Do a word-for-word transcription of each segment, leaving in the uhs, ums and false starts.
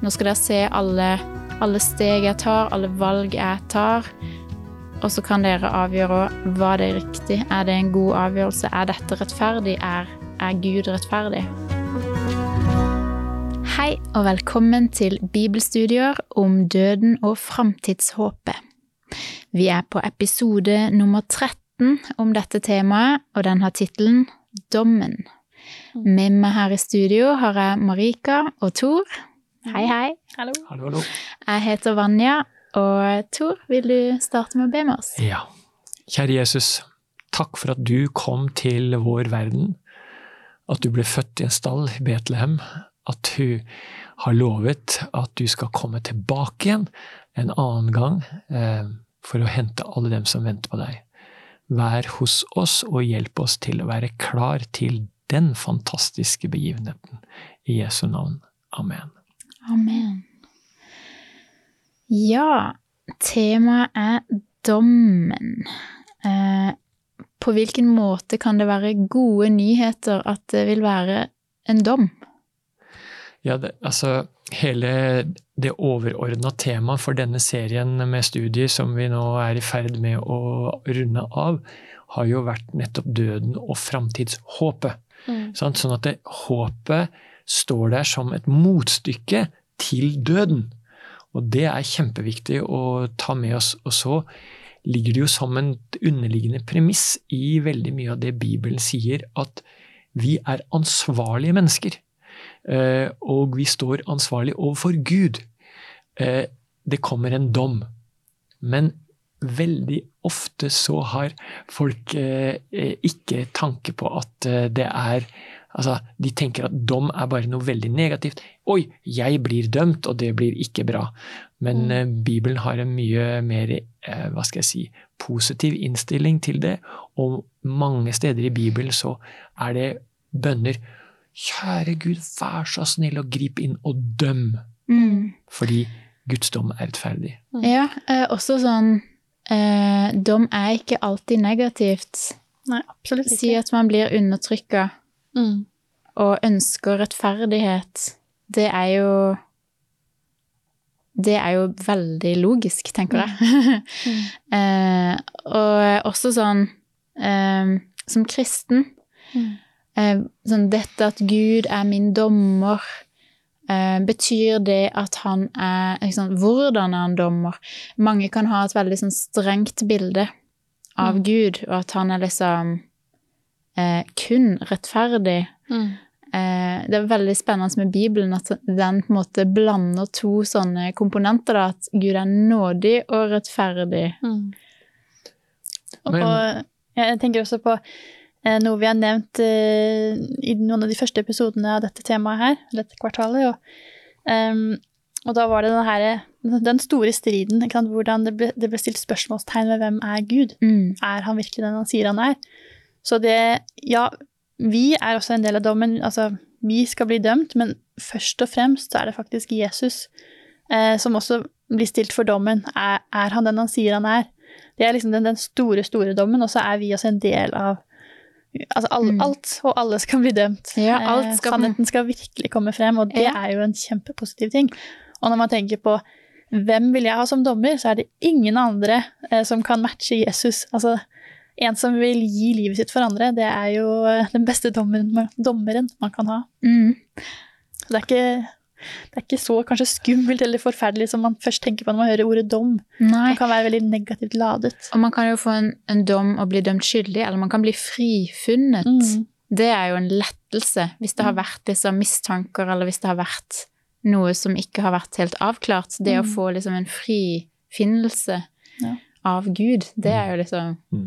Nå skal dere se alle, alle steg jeg tar, alle valg jeg tar, og så kan dere avgjøre hva det er riktig. Er det en god avgjørelse? Er dette rettferdig? Er, er Gud rettferdig? Hei og velkommen til Bibelstudier om døden og fremtidshåpet. Vi er på episode nummer tretten om dette temaet, og den har titelen Dommen. Med meg her i studio har jeg Marika og Tor. Hei, hei. Hallo. Hallo, hallo. Jeg heter Vanja, og Tor, vil du starte med å be med oss? Ja. Kjære Jesus, takk for at du kom til vår verden, at du ble født i en stall i Betlehem, at du har lovet at du skal komme tilbake igjen en annen gang eh, for å hente alle dem som venter på deg. Vær hos oss og hjelp oss til å være klar til den fantastiske begivenheten. I Jesu navn. Amen. Amen. Ja, temaet er dommen. Eh, på hvilken måte kan det være gode nyheter at det vil være en dom? Ja, det, altså hele det overordnede temaet for denne serien med studier som vi nå er i ferd med å runde av, har jo vært nettopp døden og fremtidshåpet. Mm. Sånn, sånn at det, håpet står der som et motstykke til døden. Og det er kjempeviktig å ta med oss. Og så ligger det jo som en underliggende premiss i veldig mye av det Bibelen sier, at vi er ansvarlige mennesker. Uh, og vi står ansvarlig overfor Gud. Uh, det kommer en dom. Men veldig ofte så har folk uh, ikke tanke på at uh, det er, altså de tenker at dom er bare noe veldig negativt. Oi, jeg blir dømt, og det blir ikke bra. Men uh, Bibelen har en mye mer, uh, hva skal jeg si, positiv innstilling til det, og mange steder i Bibelen så er det bønner. Kjære Gud, vær så snill og grip inn og døm. Mm. Fordi Guds dom er rettferdig. Mm. Ja, eh, også sånn, eh, dom er ikke alltid negativt. Nei, absolutt ikke. Si at man blir undertrykket mm. og ønsker rettferdighet. Det er jo, det er jo veldig logisk, tenker jeg. Mm. eh, og også sånn, eh, som kristen, mm. Eh, sånn, dette at Gud er min dommer, eh, betyr det at han er, liksom, hvordan er han dommer? Mange kan ha et veldig sånn, strengt bilde av mm. Gud, og at han er liksom eh, kun rettferdig. Mm. Eh, det er veldig spennende med Bibelen at den på en måte blander to sånne komponenter, da, at Gud er nådig og rettferdig. Mm. Og, og jeg tenker også på noe vi har nevnt uh, i noen av de første episodene av dette temaet her, dette kvartalet, og, um, og da var det den, her, den store striden, ikke sant, hvordan det ble, det ble stilt spørsmålstegn ved hvem er Gud. Mm. Er han virkelig den han sier han er? Så det, ja, vi er også en del av dommen, altså vi skal bli dømt, men først og fremst så er det faktisk Jesus uh, som også blir stilt for dommen. Er, er han den han sier han er? Det er liksom den, den store, store dommen, og så er vi også en del av altså all, mm. alt, og alle skal bli dømt. Ja, alt skal... Sannheten skal virkelig komme frem, og det ja. Er jo en kjempepositiv ting. Og når man tenker på hvem vil jeg ha som dommer, så er det ingen andre eh, som kan matche Jesus. Altså, en som vil gi livet sitt for andre, det er jo den beste dommeren, dommeren man kan ha. Mm. Så det er ikke... Det er ikke så kanskje skummelt eller forferdelig som man først tenker på når man hører ordet dom. Nei. Man kan være veldig negativt ladet. Og man kan jo få en, en dom og bli dømt skyldig, eller man kan bli frifunnet. Mm. Det er jo en lettelse hvis det har vært liksom mistanker, eller hvis det har vært noe som ikke har vært helt avklart. Det mm. å få liksom en frifinnelse ja. Av Gud, det er jo liksom... Mm.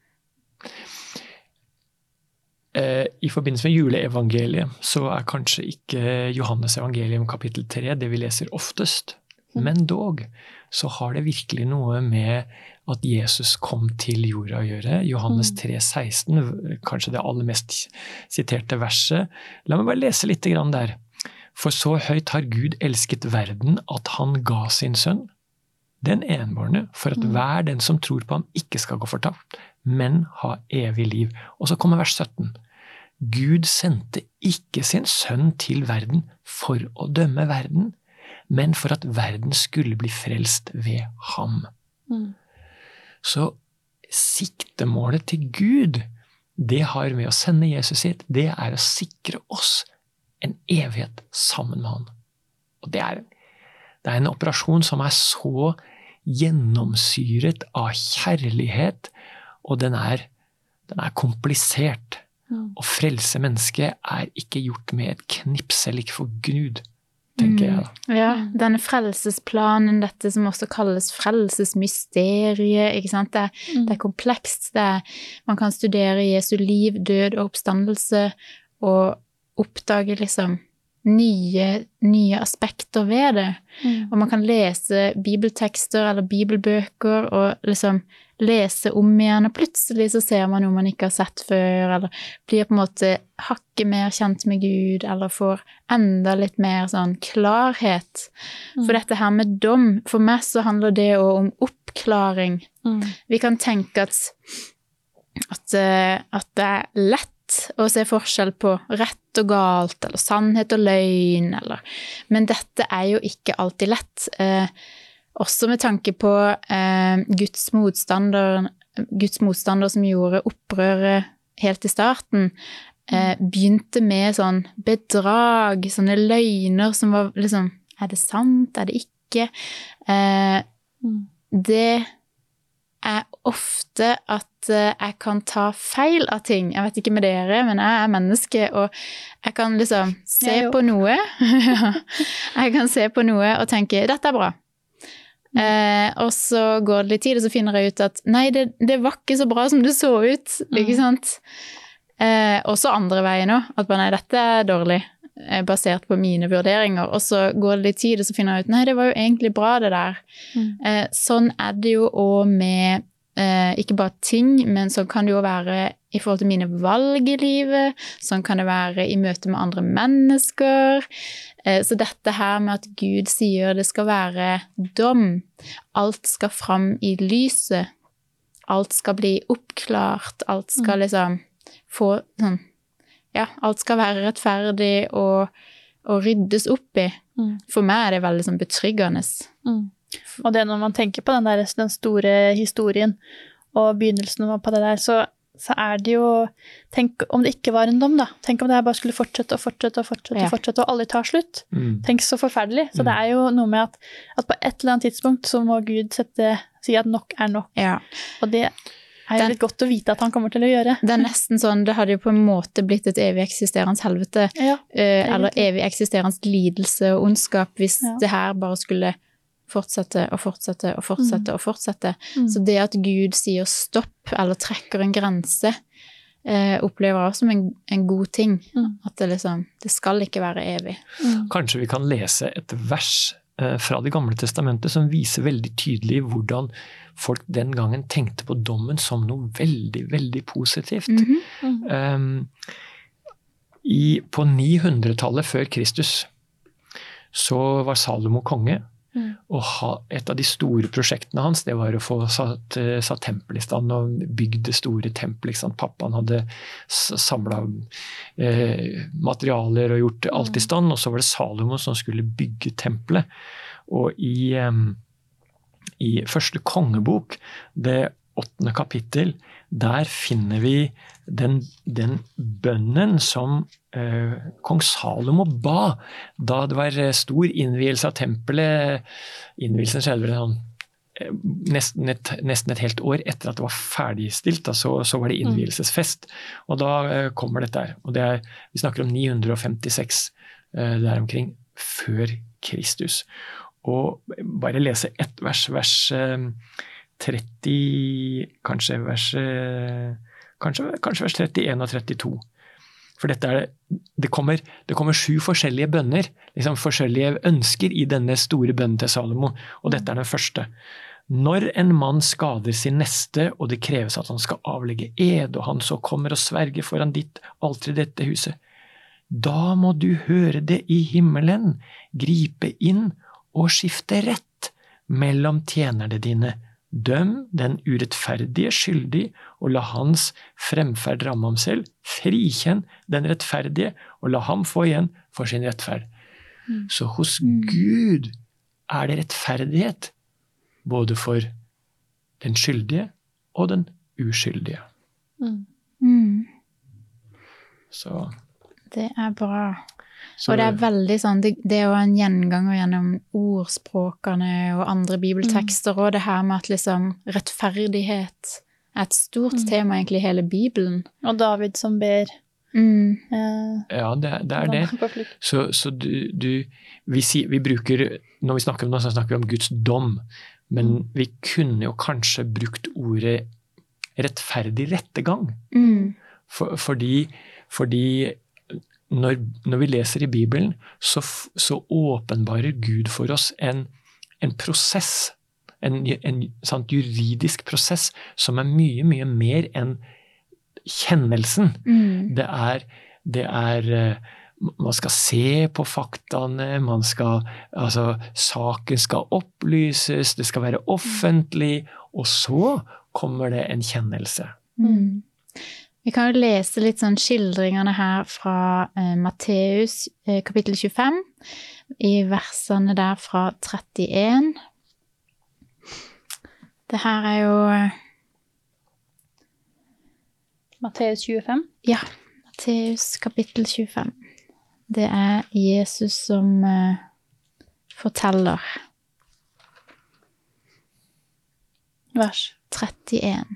I forbindelse med juleevangeliet så er kanskje ikke Johannes evangelium kapittel tre det vi leser oftest, men dog så har det virkelig noe med at Jesus kom til jorda å gjøre. Johannes tre seksten, kanskje det aller mest siterte verset. La meg bare lese litt grann der. For så høyt har Gud elsket verden at han ga sin sønn, den enbårne, for at hver den som tror på ham ikke skal gå fortapt, men ha evig liv. Og så kommer vers sytten. Gud sendte ikke sin sønn til verden for å dømme verden, men for at verden skulle bli frelst ved ham. Mm. Så siktemålet til Gud, det har med å sende Jesus hit, det er å sikre oss en evighet sammen med han. Og det er, det er en operasjon som er så gjennomsyret av kjærlighet, og den er, den er komplisert. Mm. Å frelse mennesket er ikke gjort med et knipsel, ikke for Gud, tenker jeg da. Mm. Ja, denne frelsesplanen, dette som også kalles frelsesmysteriet, ikke sant? Det, mm. det er komplekst. Det er, man kan studere Jesu liv, død og oppstandelse, og oppdage liksom nye, nye aspekter ved det. Mm. Og man kan lese bibeltekster eller bibelbøker og liksom lese om igjen, og plutselig så ser man noe man ikke har sett før, eller blir på en måte hakket mer kjent med Gud, eller får enda litt mer sånn klarhet. Mm. For dette her med dom, for meg så handler det også om oppklaring. Mm. Vi kan tenke at, at, at det er lett å se forskjell på rett og galt, eller sannhet og løgn, eller, men dette er jo ikke alltid lett. Eh, også med tanke på eh, Guds motstander, Guds motstander som gjorde opprøret helt i starten, eh, begynte med sånn bedrag, sånne løgner som var liksom, er det sant, er det ikke? Eh, det er ofte at jeg kan ta feil av ting. Jeg vet ikke med dere, men jeg er menneske, og jeg kan liksom se på noe. Jeg kan se på noe og tenke, dette er bra. Mm. Eh, og så går det litt tid, og så finner jeg ut at nei, det, det var ikke så bra som det så ut, mm. ikke sant? Eh, også andre veien nå, at bare, nei, dette er dårlig, basert på mine vurderinger, og så går det litt tid, og så finner jeg ut, nei, det var jo egentlig bra det der. Mm. Eh, sånn er det jo også med eh, ikke bare ting, men sånn kan det jo være i forhold til mine valg i livet, sånn kan det være i møte med andre mennesker. Eh, så dette her med at Gud sier det skal være dom, alt skal fram i lyset, alt skal bli oppklart, alt skal liksom få sånn, ja, alt skal være rettferdig og, og ryddes opp i. Mm. For meg er det veldig sånn betryggende. Mm. Og det når man tenker på den, der, den store historien og begynnelsen på det der, så, så er det jo, tenk om det ikke var en dom da. Tenk om det her bare skulle fortsette og fortsette og fortsette, ja. og fortsette, og aldri ta slutt. Mm. Tenk så forferdelig. Så mm. det er jo noe med at, at på et eller annet tidspunkt så må Gud sette, si at nok er nok. Ja. Og det er jo litt godt å vite at han kommer til å gjøre. Det er nesten sånn, det hadde jo på en måte blitt et evig eksisterende helvete, ja, eh, eller evig eksisterende lidelse og ondskap, hvis ja. det her bare skulle fortsette og fortsette og fortsette mm. og fortsette. Mm. Så det at Gud sier stopp, eller trekker en grense, eh, opplever jeg som en, en god ting. Mm. At det liksom, det skal ikke være evig. Mm. Kanskje vi kan lese et vers eh, fra det gamle testamentet som viser veldig tydelig hvordan folk den gangen tenkte på dommen som noe veldig, veldig positivt. Mm-hmm. Mm-hmm. Um, i, på ni hundre-tallet før Kristus så var Salomo konge, mm. og ha, et av de store prosjektene hans, det var å få satt, satt tempel i stand og bygd det store tempelet. Pappaen hadde samlet eh, materialer og gjort alt i stand, og så var det Salomo som skulle bygge tempelet. Og i um, I første kongebok, det åttende kapittel, der finner vi den, den bønnen som eh, kong Salomo ba da det var stor innvielse av tempelet. Innvielsen skjedde vel sånn, eh, nesten, et, nesten et helt år etter at det var ferdigstilt, da, så, så var det innvielsesfest. Og da eh, kommer dette her. Og det er, vi snakker om ni hundre femtiseks eh, der omkring, før Kristus. Og bare lese ett vers, vers tretti, kanskje vers, kanskje, kanskje vers trettien og trettito. For dette er, det kommer, det kommer sju forskjellige bønner, liksom forskjellige ønsker i denne store bønnen til Salomo, og dette er den første. Når en mann skader sin neste, og det kreves at han skal avlegge ed, og han så kommer og sverger foran ditt alter i dette huset, da må du høre det i himmelen, gripe inn, og skifte rett mellom tjenerne dine. Døm den urettferdige skyldig, og la hans fremferd ramme ham selv. Frikjenn den rettferdige, og la ham få igjen for sin rettferd. Mm. Så hos mm. Gud er det rettferdighet, både for den skyldige og den uskyldige. Mm. Mm. Så, Det er bra. så Og det er veldig sånn, det, det er jo en gjenganger gjennom ordspråkene og andre bibeltekster, og det her med at liksom rettferdighet er et stort Mm. tema egentlig i hele Bibelen. Og David som ber Mm. eh, ja, det, det er det. på flukt. Så, så du, du vi, sier, vi bruker, når vi snakker om det, så snakker vi om Guds dom, men vi kunne jo kanskje brukt ordet rettferdig rettegang. Mm. For, fordi fordi når, når vi leser i Bibelen, så, f- så åpenbarer Gud for oss en, en prosess, en, en sant, juridisk prosess, som er mye, mye mer enn kjennelsen. Mm. Det er, det er eh, man skal se på faktaene, man skal, altså, saken skal opplyses, det skal være offentlig, og så kommer det en kjennelse. Mm. Vi kan jo lese litt sånn skildringene her fra eh, Matteus eh, kapittel tjuefem, i versene der fra trettien. Det her er jo eh, Matteus tjuefem. Ja, Matteus kapittel tjuefem. Det er Jesus som eh, forteller. Vers. trettien.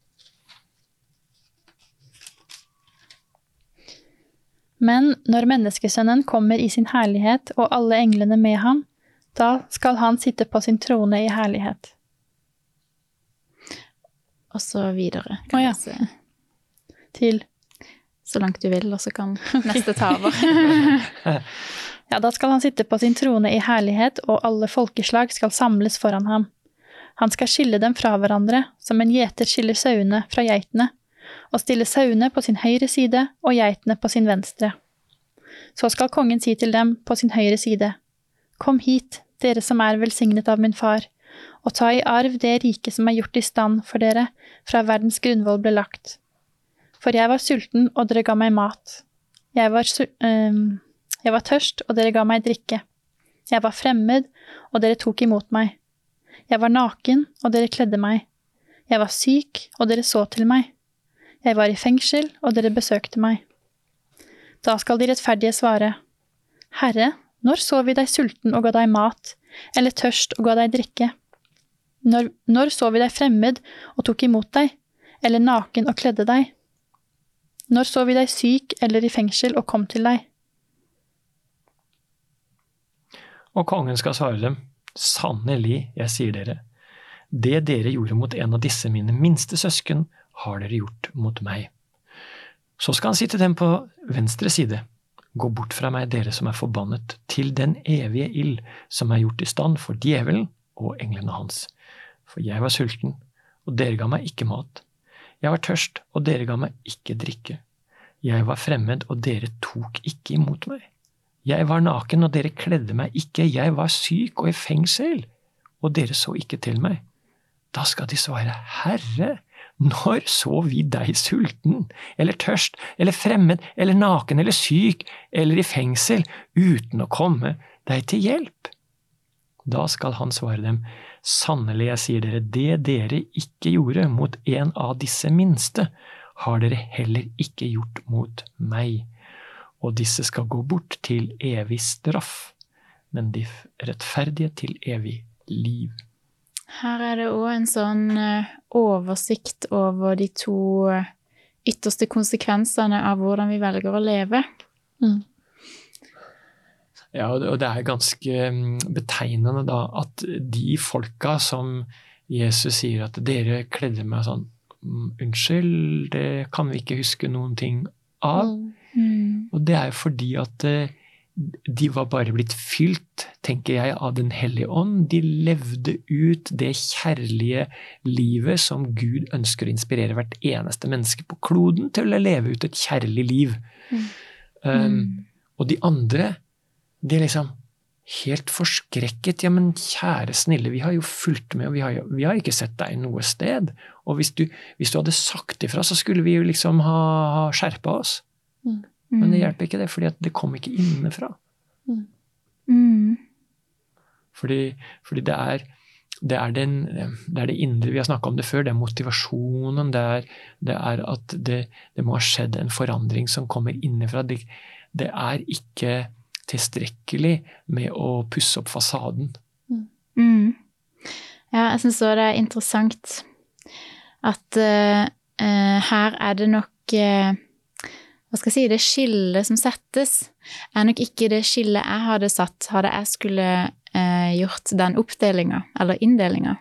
Men når menneskesønnen kommer i sin herlighet og alle englene med ham, da skal han sitte på sin trone i herlighet. Og så videre. Å Kan ja. jeg se. Til Så langt du vil, og så kan neste ta over. Ja, da skal han sitte på sin trone i herlighet, og alle folkeslag skal samles foran ham. Han skal skille dem fra hverandre, som en gjeter skiller sauene fra geitene, og stille sauene på sin høyre side og geitene på sin venstre. Så skal kongen si til dem på sin høyre side, «Kom hit, dere som er velsignet av min far, og ta i arv det rike som er gjort i stand for dere fra verdens grunnvoll ble lagt. For jeg var sulten, og dere ga meg mat. Jeg var, su- øhm, jeg var tørst, og dere ga meg drikke. Jeg var fremmed, og dere tok imot meg. Jeg var naken, og dere kledde meg. Jeg var syk, og dere så til meg. Jeg var i fengsel, og dere besøkte meg. Da skal de rettferdige svare, Herre, når så vi deg sulten og ga deg mat, eller tørst og ga deg drikke? Når, når så vi deg fremmed og tok imot deg, eller naken og kledde deg? Når så vi deg syk eller i fengsel og kom til deg? Og kongen skal svare dem, sannelig, jeg sier dere, det dere gjorde mot en av disse mine minste søsken, har dere gjort mot meg. Så skal han si til dem på venstre side, gå bort fra meg, dere som er forbannet, til den evige ild som er gjort i stand for djevelen og englene hans. For jeg var sulten, og dere ga meg ikke mat. Jeg var tørst, og dere ga meg ikke drikke. Jeg var fremmed, og dere tok ikke imot meg. Jeg var naken, og dere kledde meg ikke. Jeg var syk og i fengsel, og dere så ikke til meg. Da skal de svare, Herre, når så vi deg sulten, eller tørst, eller fremmed, eller naken, eller syk, eller i fengsel, uten å komme deg til hjelp? Da skal han svare dem, sannelig, jeg sier dere, det dere ikke gjorde mot en av disse minste, har dere heller ikke gjort mot meg. Og disse skal gå bort til evig straff, men de rettferdige til evig liv. Her er det også en sånn eh, oversikt over de to eh, ytterste konsekvensene av hvordan vi velger å leve. Mm. Ja, og det er ganske betegnende da, at de folka som Jesus sier at dere kledde meg sånn, unnskyld, det kan vi ikke huske noen ting av. Mm. Og det er jo fordi at de var bare blitt fylt, tenker jeg, av den hellige ånd. De levde ut det kjærlige livet som Gud ønsker å inspirere hvert eneste menneske på kloden til å leve ut et kjærlig liv. Mm. Um, og de andre, de er liksom helt forskrekket. Ja, men kjære snille, vi har jo fulgt med, og vi har, jo, vi har ikke sett deg noe sted. Og hvis du, hvis du hadde sagt ifra, så skulle vi jo liksom ha, ha skjerpet oss. Mm. Men det hjelper ikke det, fordi det kom ikke innenfra. Mm. Fordi, fordi det er Det er, den, det er det indre, vi har snakket om det før, det er motivasjonen, det er, det er at det, det må ha skjedd en forandring som kommer innenfra. Det, det er ikke tilstrekkelig med å pusse opp fasaden. Mm. Ja, jeg synes også det er interessant at uh, uh, her er det nok uh, hva skal jeg si, det skillet som settes er nok ikke det skillet jeg hadde satt, hadde jeg skulle uh, gjort den oppdelingen, eller inndelingen.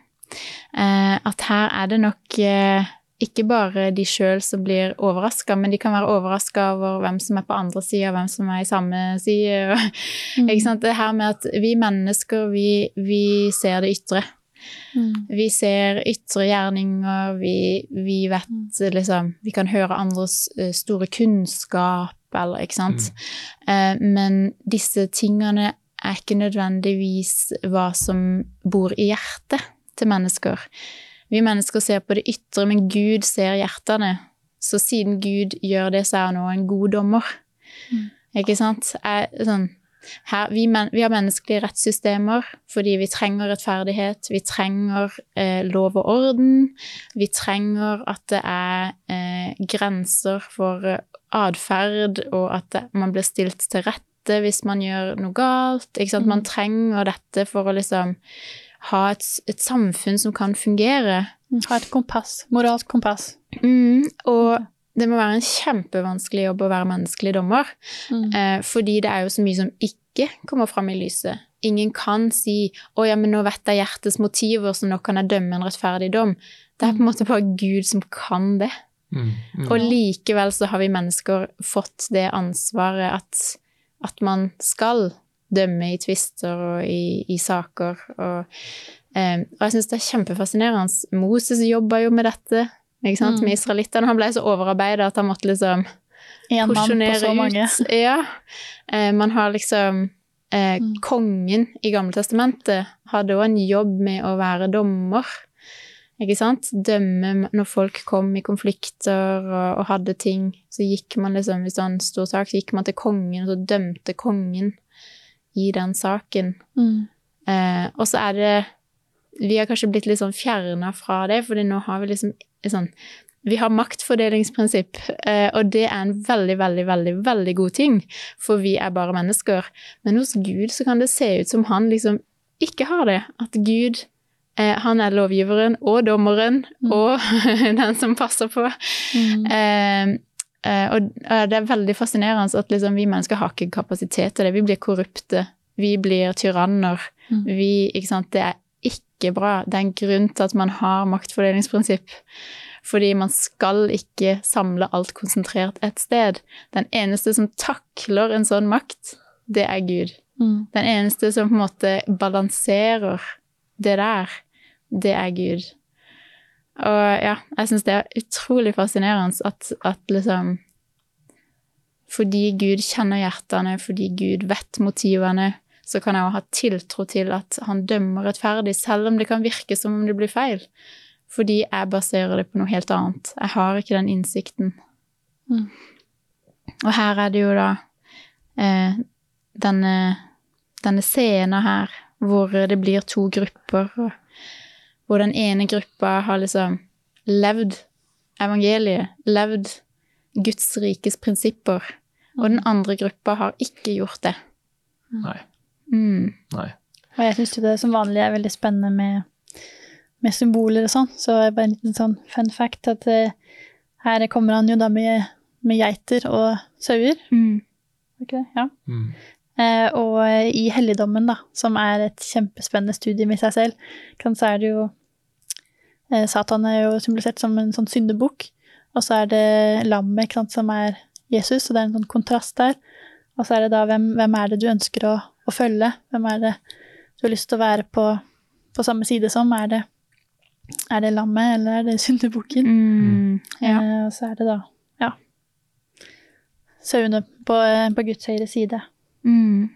Uh, at her er det nok uh, ikke bare de selv som blir overrasket, men de kan være overrasket over hvem som er på andre siden, hvem som er i samme side. Mm. Ikke sant? Det her med at vi mennesker, vi, vi ser det ytre. Mm. Vi ser ytre gjerninger, vi, vi vet liksom, vi kan høre andres store kunnskap, eller ikke sant? Mm. Uh, men disse tingene er ikke nødvendigvis hva som bor i hjertet til mennesker. Vi mennesker ser på det ytre, men Gud ser hjertene. Så siden Gud gjør det, så er han også en god dommer. Mm. Ikke sant? Er, sånn, her, vi, men, vi har menneskelige rettssystemer fordi vi trenger rettferdighet, vi trenger eh, lov og orden, vi trenger at det er eh, grenser for adferd, og at det, man blir stilt til rette hvis man gjør noe galt. Ikke sant? Mm. Man trenger dette for å liksom ha et, et samfunn som kan fungere. Ha et kompass, moralsk kompass. Mm, og det må være en kjempevanskelig jobb å være menneskelig dommer, mm. eh, fordi det er jo så mye som ikke kommer frem i lyset. Ingen kan si, å ja, men nå vet jeg hjertets motiver, så nå kan jeg dømme en rettferdig dom. Det er på en måte bare Gud som kan det. Mm. Mm. Og likevel så har vi mennesker fått det ansvaret at, at man skal dømme i tvister og i, i saker. Og, eh, og jeg synes det er kjempefascinerende. Moses jobber jo med dette, ikke sant? Mm. Med israelitterne. Han ble så overarbeidet at han måtte liksom en porsjonere ut. Mange. Ja. Eh, man har liksom eh, mm. kongen i Gamle Testamentet hadde også en jobb med å være dommer. Ikke sant? Dømme når folk kom i konflikter og, og hadde ting. Så gikk man liksom, hvis det var en stor sak, så gikk man til kongen, og så dømte kongen i den saken. Mm. Eh, og så er det, vi har kanskje blitt litt sånn fjernet fra det, fordi nå har vi liksom, sånn, vi har maktfordelingsprinsipp, eh, og det er en veldig, veldig, veldig, veldig god ting, for vi er bare mennesker. Men hos Gud så kan det se ut som han liksom ikke har det, at Gud, eh, han er lovgiveren og dommeren, mm. og den som passer på. Mm. Eh, Uh, og uh, det er veldig fascinerende at liksom, vi mennesker har ikke kapasitet til det. Vi blir korrupte, vi blir tyranner. Mm. Vi, ikke sant, det er ikke bra. Det er en grunn til at man har maktfordelingsprinsipp. Fordi man skal ikke samle alt konsentrert et sted. Den eneste som takler en sånn makt, det er Gud. Mm. Den eneste som på en måte balanserer det der, det er Gud. Og ja, jeg synes det er utrolig fascinerende at, at liksom, fordi Gud kjenner hjertene, fordi Gud vet motivene, så kan jeg jo ha tiltro til at han dømmer rettferdig, selv om det kan virke som om det blir feil. Fordi jeg baserer det på noe helt annet. Jeg har ikke den innsikten. Mm. Og her er det jo da eh, denne, denne scenen her, hvor det blir to grupper, og hvor den ene gruppa har liksom levd evangeliet, levd Guds rikes prinsipper, og den andre gruppa har ikke gjort det. Nei. Mm. Nei. Og jeg synes jo det som vanlig er veldig spennende med, med symboler og sånn, så er det bare en liten sånn fun fact at uh, her kommer han jo da med, med geiter og sauer. Mm. Ikke det? Ja. Mm. Eh, og i helligdommen da, som er et kjempespennende studie med seg selv, kan, så er det jo eh, Satan er jo symbolisert som en sånn syndebukk, og så er det lammet, ikke sant, som er Jesus, og det er en sånn kontrast der, og så er det da hvem, hvem er det du ønsker å, å følge, hvem er det du har lyst til å være på, på samme side som, er det, er det lammet eller er det syndebukken? Mm, ja. eh, og så er det da ja sauene på, på Guds høyre side. Mm.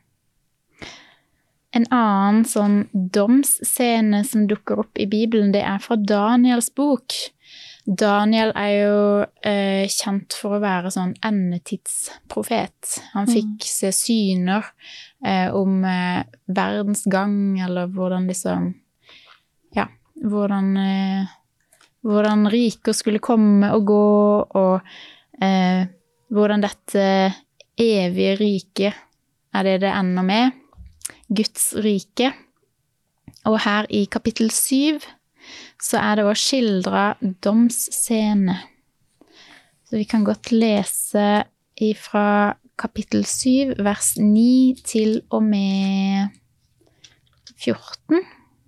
En annen sånn domsscene som dukker opp i Bibelen, det er fra Daniels bok. Daniel er jo eh, kjent for å være sånn endetidsprofet. Han fikk mm. se syner eh, om eh, verdens gang, eller hvordan liksom, ja, hvordan, eh, hvordan riker skulle komme og gå, og eh, hvordan dette evige rike er det det ender med, Guds rike. Og her i kapittel syv så er det også skildret domsscene. Så vi kan godt lese ifra kapittel syv, vers ni til og med fjorten.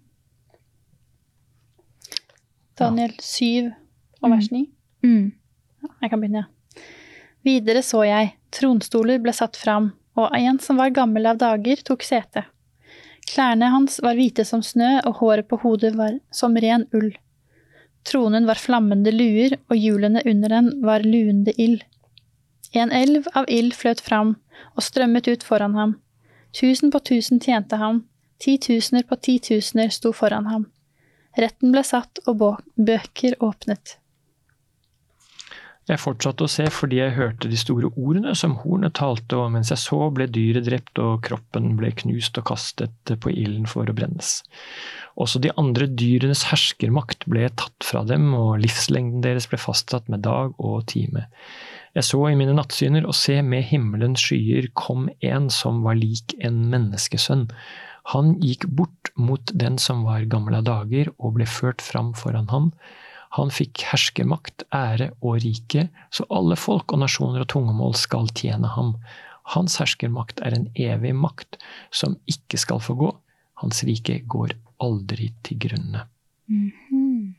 Daniel syv og vers ni. Mm. Jeg kan begynne, ja. Videre så jeg, tronstoler ble satt fram, og en som var gammel av dager tok sete. Klærne hans var hvite som snø, og håret på hodet var som ren ull. Tronen var flammende luer, og hjulene under den var luende ild. En elv av ild fløt fram, og strømmet ut foran ham. Tusen på tusen tjente ham, ti tusener på ti tusener sto foran ham. Retten ble satt, og bøker åpnet. Jeg fortsatte å se fordi jeg hørte de store ordene som hornet talte, og mens jeg så ble dyret drept, og kroppen ble knust og kastet på ilden for å brennes. Også de andre dyrenes herskermakt ble tatt fra dem, og livslengden deres ble fastsatt med dag og time. Jeg så i mine nattsyner, og se med himmelens skyer kom en som var lik en menneskesønn. Han gikk bort mot den som var gammel av dager, og ble ført fram foran ham. Han fikk herskermakt, ære og rike, så alle folk og nasjoner og tungemål skal tjene ham. Hans herskermakt er en evig makt som ikke skal forgå. Hans rike går aldri til grunne. Mm-hmm.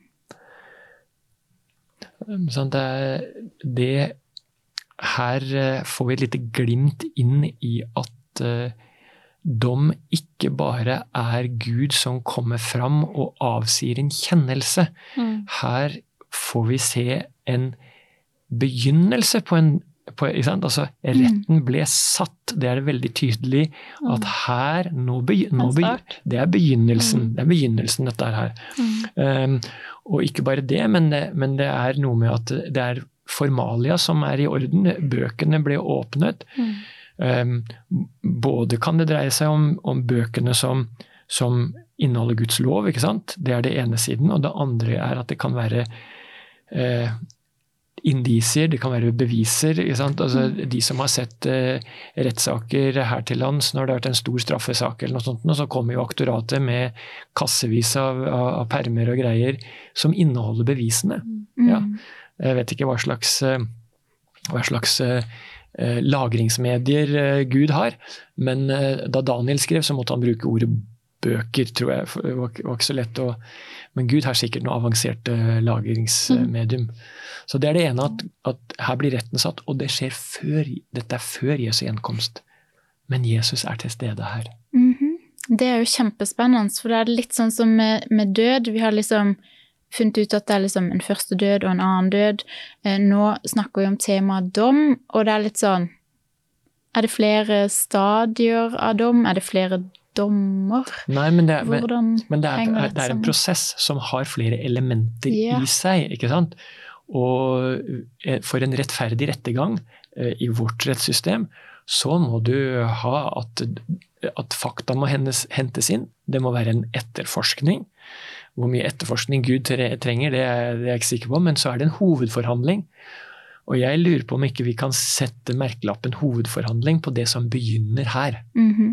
Sånn det, det her får vi et lite glimt inn i at uh, dom ikke bare er Gud som kommer fram og avsier en kjennelse. Mm. Her får vi se en begynnelse på en, på, ikke sant? Altså, retten ble satt. Det er det veldig tydelig at her, nå be, nå be, det er begynnelsen. Mm. Det er begynnelsen dette her. Mm. Um, og ikke bare det men, det, men det er noe med at det er formalia som er i orden. Bøkene ble åpnet. Mm. Um, både kan det dreie seg om, om bøkene som, som inneholder Guds lov, ikke sant? Det er det ene siden, og det andre er at det kan være eh, indisier, det kan være beviser, ikke sant? Altså, mm. de som har sett eh, rettssaker her til lands, når det har vært en stor straffesak eller noe sånt, så kommer jo aktoratet med kassevis av, av, av permer og greier som inneholder bevisene. Mm. Ja. Jeg vet ikke hva slags, hva slags lagringsmedier Gud har, men da Daniel skrev så måtte han bruke ordet bøker, tror jeg. Det var ikke så lett å... Men Gud har sikkert noe avansert lagringsmedium. Mm. Så det er det ene, at, at her blir retten satt, og det skjer før, dette er før Jesu gjenkomst. Men Jesus er til stede her. Mm-hmm. Det er jo kjempespennende, for det er litt sånn som med, med død. Vi har liksom funnet ut at det er liksom en første død og en annen død. Nå snakker vi om temaet dom, og det er litt sånn, er det flere stadier av dom? Er det flere dommer? Nei, men det er, Hvordan men det er, det det er en prosess som har flere elementer ja. i seg, ikke sant? Og for en rettferdig rettegang i vårt rettssystem, så må du ha at, at fakta må hentes, hentes inn. Det må være en etterforskning. Hvor mye etterforskning Gud trenger, det er jeg ikke sikker på, men så er det en hovedforhandling. Og jeg lurer på om ikke vi kan sette merkelappen hovedforhandling på det som begynner her. Mm-hmm.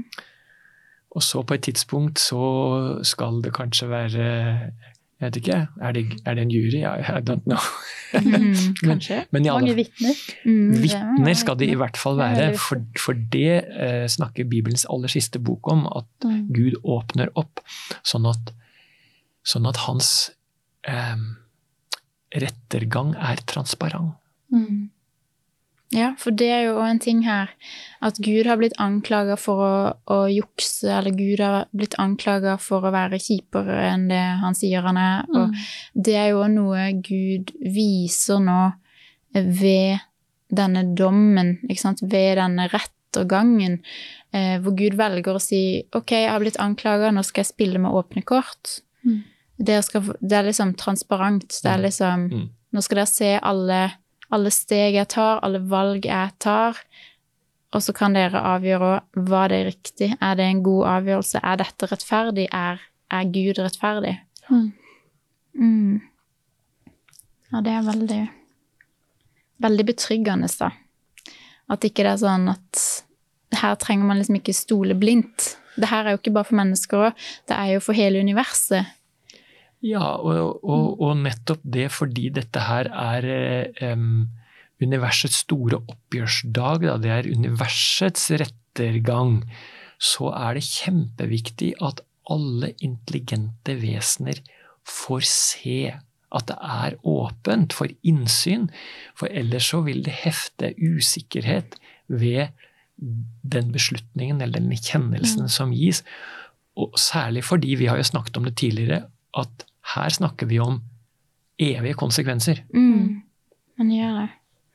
Og så på et tidspunkt så skal det kanskje være, jeg vet ikke, er det, er det en jury? I don't know. Mm, kanskje. men, men Mange vittner. Mm, vittner skal det i hvert fall være, det for, for det eh, snakker Bibelens aller siste bok om, at mm. Gud åpner opp, sånn at Sånn at hans eh, rettergang er transparent. Mm. Ja, for det er jo også en ting her, at Gud har blitt anklaget for å, å jukse, eller Gud har blitt anklaget for å være kjipere enn det han sier han er, og Mm. det er jo noe Gud viser nå ved denne dommen, ikke sant? Ved denne rettergangen, eh, hvor Gud velger å si, ok, jeg har blitt anklaget, nå skal jeg spille med åpne kort. Mm. Det, skal, det er liksom transparent, det er liksom, Mm. nå skal dere se alle, alle steg jeg tar, alle valg jeg tar, og så kan dere avgjøre hva det er riktig. Er det en god avgjørelse? Er dette rettferdig? Er, er Gud rettferdig? Mm. Mm. Ja, det er veldig, veldig betryggende da. At ikke det er sånn at her trenger man liksom ikke stole blindt. Det her er jo ikke bare for mennesker også, det er jo for hele universet. Ja, og, og, og nettopp det fordi dette her er um, universets store oppgjørsdag, da. Det er universets rettergang, så er det kjempeviktig at alle intelligente vesener får se at det er åpent for innsyn, for ellers så vil det hefte usikkerhet ved den beslutningen eller den kjennelsen mm. som gis. Og særlig fordi, vi har jo snakket om det tidligere, at her snakker vi om evige konsekvenser. Mm. Man gjør det.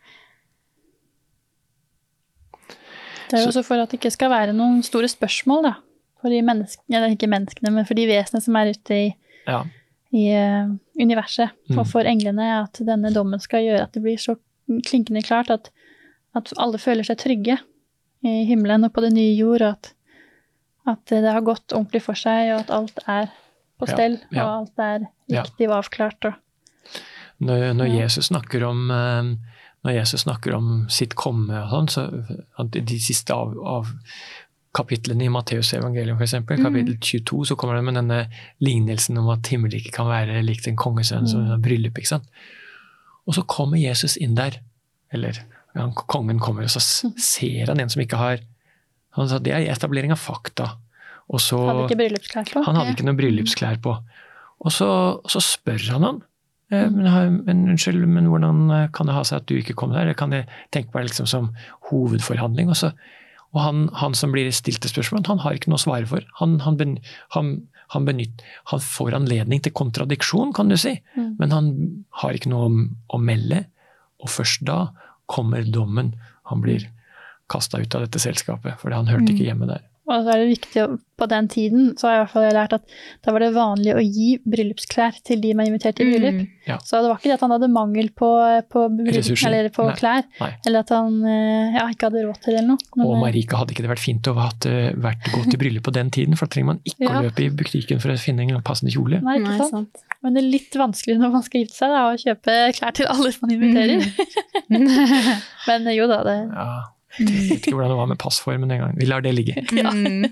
Det er jo også for at det ikke skal være noen store spørsmål da, for de menneskene, eller ikke menneskene, men for de vesenene som er ute i, ja. i uh, universet, mm. og for englene, at denne dommen skal gjøre at det blir så klinkende klart at, at alle føler seg trygge i himmelen og på det nye jord, og at, at det har gått ordentlig for seg, og at alt er på stell, ja, ja. Og alt er riktig og avklart. Og, når, når ja. Jesus snakker om når Jesus snakker om sitt komme, og sånn, så de siste av, av kapitlene i Matteus evangelium for eksempel, mm. kapittel tjueto, så kommer det med denne lignelsen om at himmeriket kan være likt en kongesønn som mm. bryllup, ikke sant? Og så kommer Jesus inn der, eller ja, kongen kommer, og så ser han en som ikke har, han sa, det er etablering av fakta. Og så, hadde ikke bryllupsklær på. Han hadde ikke noe bryllupsklær på. Og så, så spør han han, eh, men, men unnskyld, men hvordan kan det ha seg at du ikke kom der? Det kan jeg tenke meg liksom som hovedforhandling. Og, så, og han, han som blir stilt til spørsmål, han har ikke noe å svare for. Han, han, ben, han, han, benytt, han får anledning til kontradiksjon, kan du si, mm. men han har ikke noe å, å melde. Og først da kommer dommen. Han blir kastet ut av dette selskapet, for han hørte ikke hjemme der. Og så er det viktig, på den tiden, så har jeg i hvert fall lært at da var det vanlig å gi bryllupsklær til de man inviterte i bryllup. Mm. Ja. Så det var ikke det at han hadde mangel på, på, bryllup, eller på Nei. klær, Nei. eller at han ja, ikke hadde råd til det eller noe. Men, og Marika, hadde ikke det vært fint å ha vært gått i bryllup på den tiden, for da trenger man ikke ja. å løpe i butikken for å finne en passende kjole. Nei, ikke sant. Nei, sant. Men det er litt vanskelig når man skal gifte seg da, å kjøpe klær til alle som man inviterer. Mm. Men jo da, det... Ja. Jeg vet ikke hvordan det var med passformen en gang. Vi lar det ligge. Ja,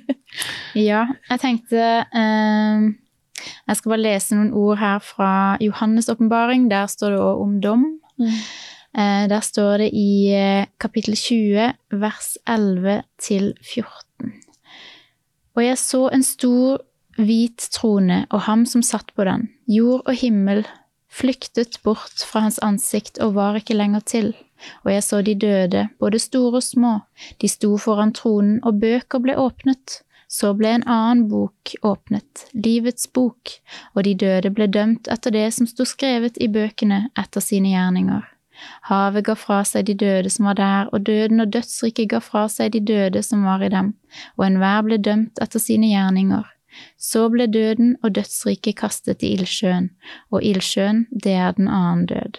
ja jeg tenkte eh, jeg skal bare lese noen ord her fra Johannes åpenbaring. Der står det også om dom. Mm. Eh, der står det i eh, kapittel tjue, vers elleve til fjorten. Og jeg så en stor hvit trone, og ham som satt på den. Jord og himmel flyktet bort fra hans ansikt og var ikke lenger til. Og jeg så de døde, både store og små. De sto foran tronen, og bøker ble åpnet. Så ble en annen bok åpnet, livets bok, og de døde ble dømt etter det som sto skrevet i bøkene etter sine gjerninger. Havet ga fra seg de døde som var der, og døden og dødsriket ga fra seg de døde som var i dem, og enhver ble dømt etter sine gjerninger. Så ble døden og dødsriket kastet i ildsjøen, og ildsjøen, det er den annen død.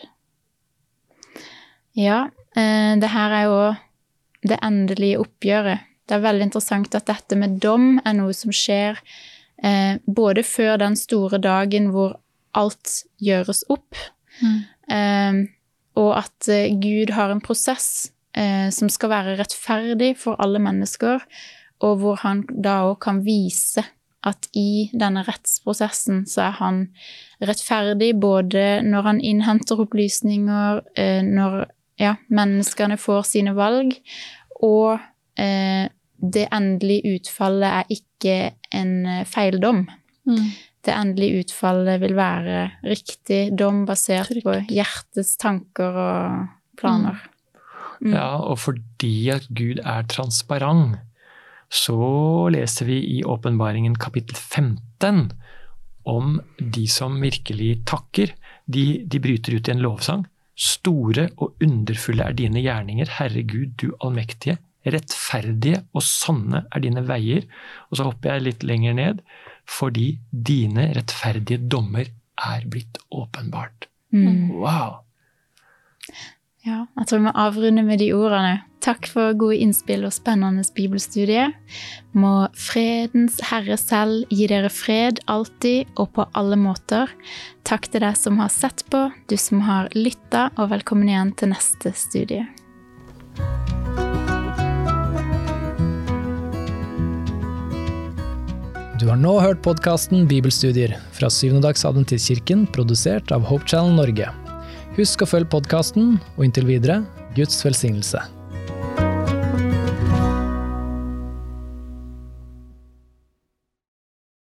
Ja, eh, det her er jo det endelige oppgjøret. Det er veldig interessant at dette med dom er noe som skjer eh, både før den store dagen hvor alt gjøres opp, mm. eh, og at eh, Gud har en prosess eh, som skal være rettferdig for alle mennesker, og hvor han da også kan vise at i denne rettsprosessen så er han rettferdig både når han innhenter opplysninger, eh, når ja, menneskene får sine valg, og eh, det endelige utfallet er ikke en feildom. Mm. Det endelige utfallet vil være riktig dom basert Trykk. på hjertets tanker og planer. Mm. Mm. Ja, og fordi at Gud er transparent, så leser vi i åpenbaringen kapittel femten om de som virkelig takker. De, de bryter ut i en lovsang. Store og underfulle er dine gjerninger, Herre Gud, du allmektige. Rettferdige og sanne er dine veier. Og så hopper jeg litt lenger ned, fordi dine rettferdige dommer er blitt åpenbart. Mm. Wow! Ja, jeg tror vi må avrunde med de ordene. Takk for gode innspill og spennende bibelstudie. Må fredens Herre selv gi dere fred alltid og på alle måter. Takk til deg som har sett på, du som har lyttet, og velkommen igjen til neste studie. Du har nå hørt podcasten Bibelstudier fra Syvende-dags Adventistkirken, produsert av Hope Channel Norge. Husk å følge podcasten, og inntil videre, Guds velsignelse.